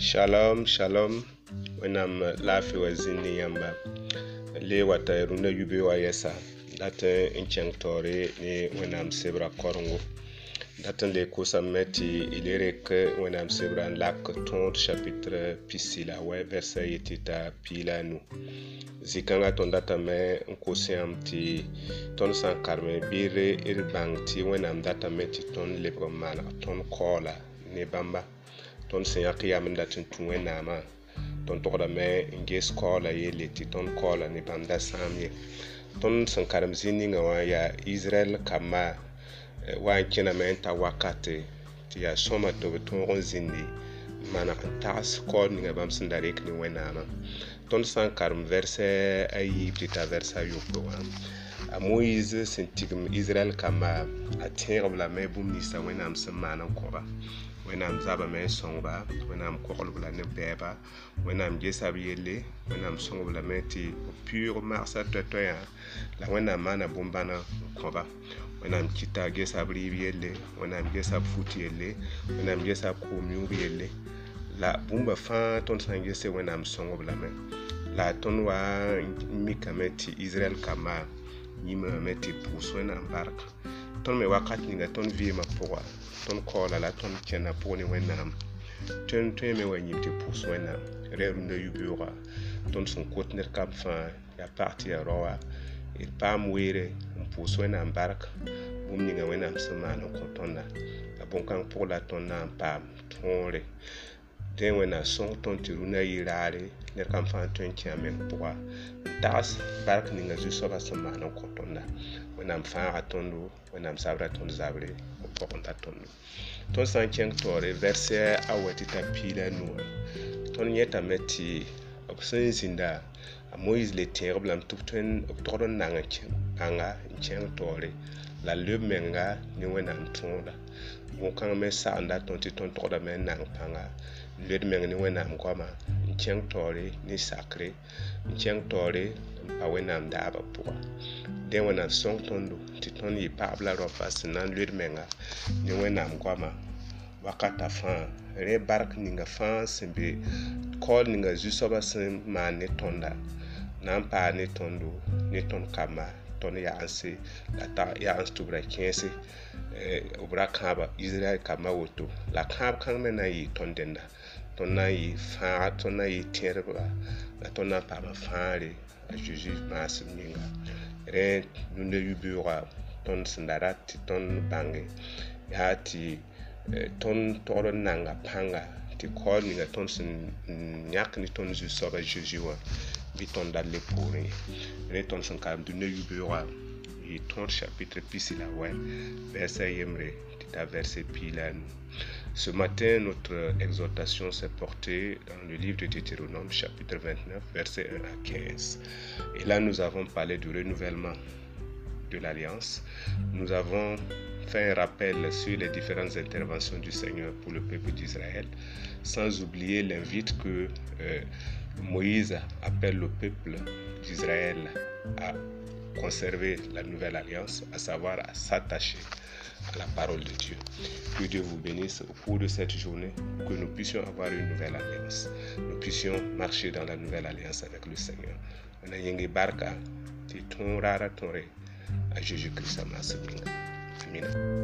Shalom, shalom. Wenam lafi wazini yamba. Le wata runa yube wa yesa. Data inchang tore ni wenam sebra korongo. Data le kosa meti ilere ke wenam sebra lak ton chapitre pisila we verset yetita pila nu. Zikanga ton data me nkosiam ti ton san karme bire irbang ti wenam data meti ton lebro mana ton kola ne bamba. Ton senyak yam datin tuwe nama ton tokda me nges kola yele ti ton kola ni bamda samye ton sankaram zininga wa ya Israel kama wa kina me ta wakati ti ya soma to ton zindi mana tas ko ni bam sandarek ni wenama ton sankaram verse ayi ta verse yupo a Moïse sentigm Israel kama atir bla me bum ni sa wenam samana ko wenam zaba me songba wenam kokolbla ne beba wenam jesab yelle wenam songbla meti pure marsa toya la wenam mana bombana koba wenam kita jesab yelle wenam jesab futi yelle wenam jesab komiu yelle la bomba fa ton sangese wenam songbla me la ton wa mikameti Israel kama yima meti puswena barka ton me wakat ninga ton vie ma poa ton kola la ton kena poni wenam ton me wani te puswena reru na yubura ton son kotner kam fa ya parti ya roa il pam were puswena barka bum ninga wenam semana kotonda la bonkan pour la ton na pam tonre den wena son ton tiruna yirare ner kam fa ton kiamen poa tas barka ninga ju soba semana kotonda wenam fa atondo wenam sabra ton zabre ko konta tondo ton sancheng tore verset awatita pila nu ton yeta meti opsin zinda a Moïse le terrible am tupten optoron nanga anga cheng tore la lemenga ni wenam tonda bon kan me sa anda ton ti ton toda men nang panga le menga ni wenam kwama cheng tore ni sacré cheng tore pa wenam daba pour den wenam song tondo ti ton yi pabla rofa sinan le menga ni wenam kwama wakata fa re bark ninga fa sembe kol ninga jusoba sem man tonda nan pa ne tondo ne ton kama ton ya anse la ta ya anstubra kense obra kaba Israel kama woto la kab kan me na yi tondenda ton na yi fa ton na yi terba la ton na pa ma faare a Jésus mas minga re nunde yubura ton sandarat ton bange ya ti ton toro nanga panga ti kol ni ton sin nyak ni ton ju soba Jésus wa bi ton dalle pourri re ton san kam du ne yubura et ton chapitre pisila ouais verset yemre ta verset pilan. Ce matin, notre exhortation s'est portée dans le livre de Deutéronome, chapitre 29, versets 1 à 15. Et là, nous avons parlé du renouvellement de l'Alliance. Nous avons fait un rappel sur les différentes interventions du Seigneur pour le peuple d'Israël, sans oublier l'invite que Moïse appelle le peuple d'Israël à conserver la nouvelle alliance, à savoir à s'attacher à la parole de Dieu. Que Dieu vous bénisse au cours de cette journée, que nous puissions avoir une nouvelle alliance. Nous puissions marcher dans la nouvelle alliance avec le Seigneur. On a yenge barka, ti ton rara ton re, à Jésus-Christ, Amen.